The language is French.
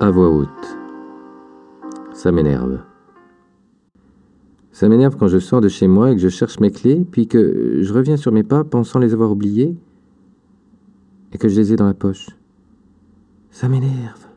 À voix haute. Ça m'énerve. Ça m'énerve quand je sors de chez moi et que je cherche mes clés, puis que je reviens sur mes pas pensant les avoir oubliées et que je les ai dans la poche. Ça m'énerve.